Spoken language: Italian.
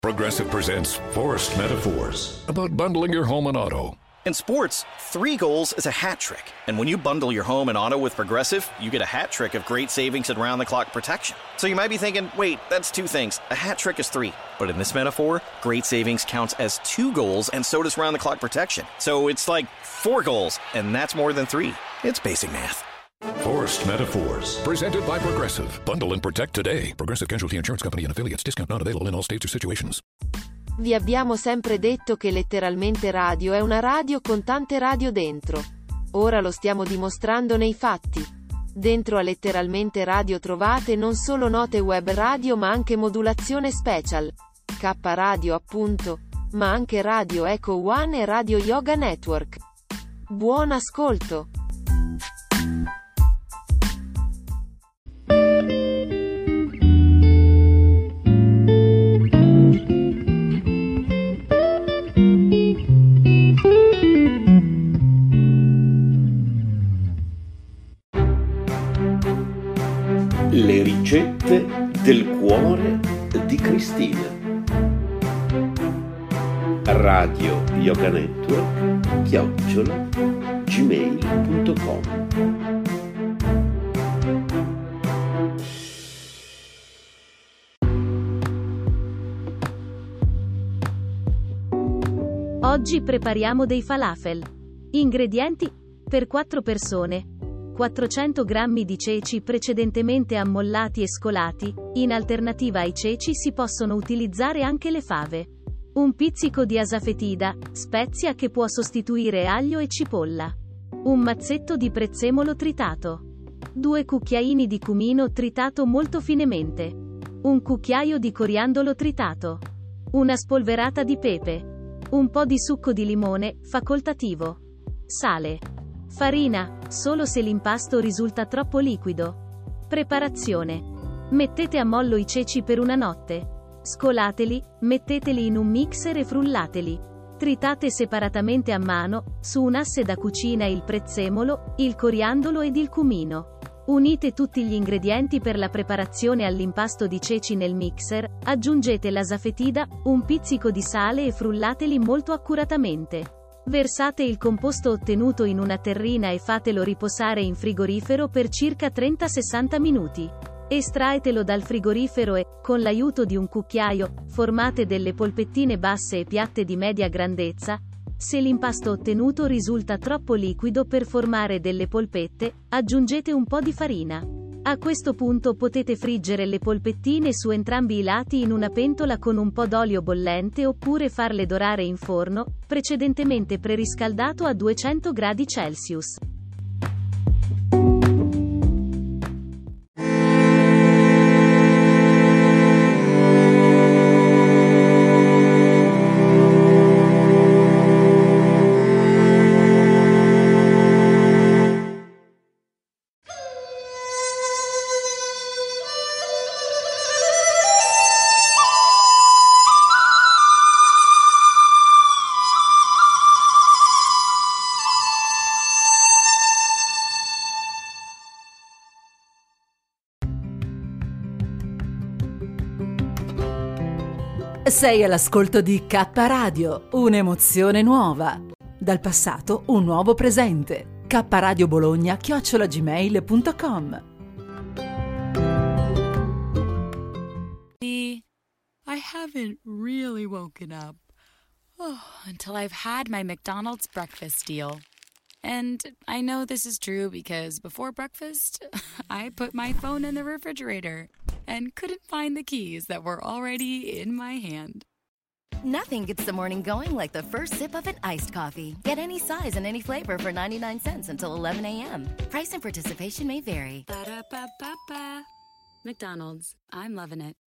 Progressive presents Forced Metaphors about bundling your home and auto. In sports, 3 goals is a hat trick. And when you bundle your home and auto with Progressive, you get a hat trick of great savings and round-the-clock protection. So you might be thinking, wait, that's 2 things. A hat trick is 3. But in this metaphor, great savings counts as 2 goals, and so does round-the-clock protection. So it's like 4 goals, and that's more than 3. It's basic math. Forced Metaphors, presented by Progressive. Bundle and protect today. Progressive Casualty Insurance Company and affiliates. Discount not available in all states or situations. Vi abbiamo sempre detto che letteralmente radio è una radio con tante radio dentro. Ora lo stiamo dimostrando nei fatti. Dentro a letteralmente radio trovate non solo note web radio ma anche modulazione special. K Radio appunto. Ma anche Radio Echo One e Radio Yoga Network. Buon ascolto! Le ricette del cuore di Cristina. Radio Yoga Network @gmail.com. Oggi prepariamo dei falafel. Ingredienti: per 4 persone: 400 g di ceci precedentemente ammollati e scolati, in alternativa ai ceci si possono utilizzare anche le fave. Un pizzico di asafetida, spezia che può sostituire aglio e cipolla. Un mazzetto di prezzemolo tritato. 2 cucchiaini di cumino tritato molto finemente. Un cucchiaio di coriandolo tritato. Una spolverata di pepe. Un po' di succo di limone, facoltativo. Sale. Farina, solo se l'impasto risulta troppo liquido. Preparazione. Mettete a mollo i ceci per una notte. Scolateli, metteteli in un mixer e frullateli. Tritate separatamente a mano, su un asse da cucina il prezzemolo, il coriandolo ed il cumino. Unite tutti gli ingredienti per la preparazione all'impasto di ceci nel mixer, aggiungete l'asafetida, un pizzico di sale e frullateli molto accuratamente. Versate il composto ottenuto in una terrina e fatelo riposare in frigorifero per circa 30-60 minuti. Estraetelo dal frigorifero e, con l'aiuto di un cucchiaio, formate delle polpettine basse e piatte di media grandezza. Se l'impasto ottenuto risulta troppo liquido per formare delle polpette, aggiungete un po' di farina. A questo punto potete friggere le polpettine su entrambi i lati in una pentola con un po' d'olio bollente oppure farle dorare in forno, precedentemente preriscaldato a 200 gradi Celsius. Sei all'ascolto di K Radio, un'emozione nuova. Dal passato un nuovo presente. kradio Bologna @gmail.com. I haven't really woken up until I've had my McDonald's breakfast deal. And I know this is true because before breakfast, I put my phone in the refrigerator and couldn't find the keys that were already in my hand. Nothing gets the morning going like the first sip of an iced coffee. Get any size and any flavor for 99 cents until 11 a.m. Price and participation may vary. Ba-da-ba-ba-ba. McDonald's. I'm loving it.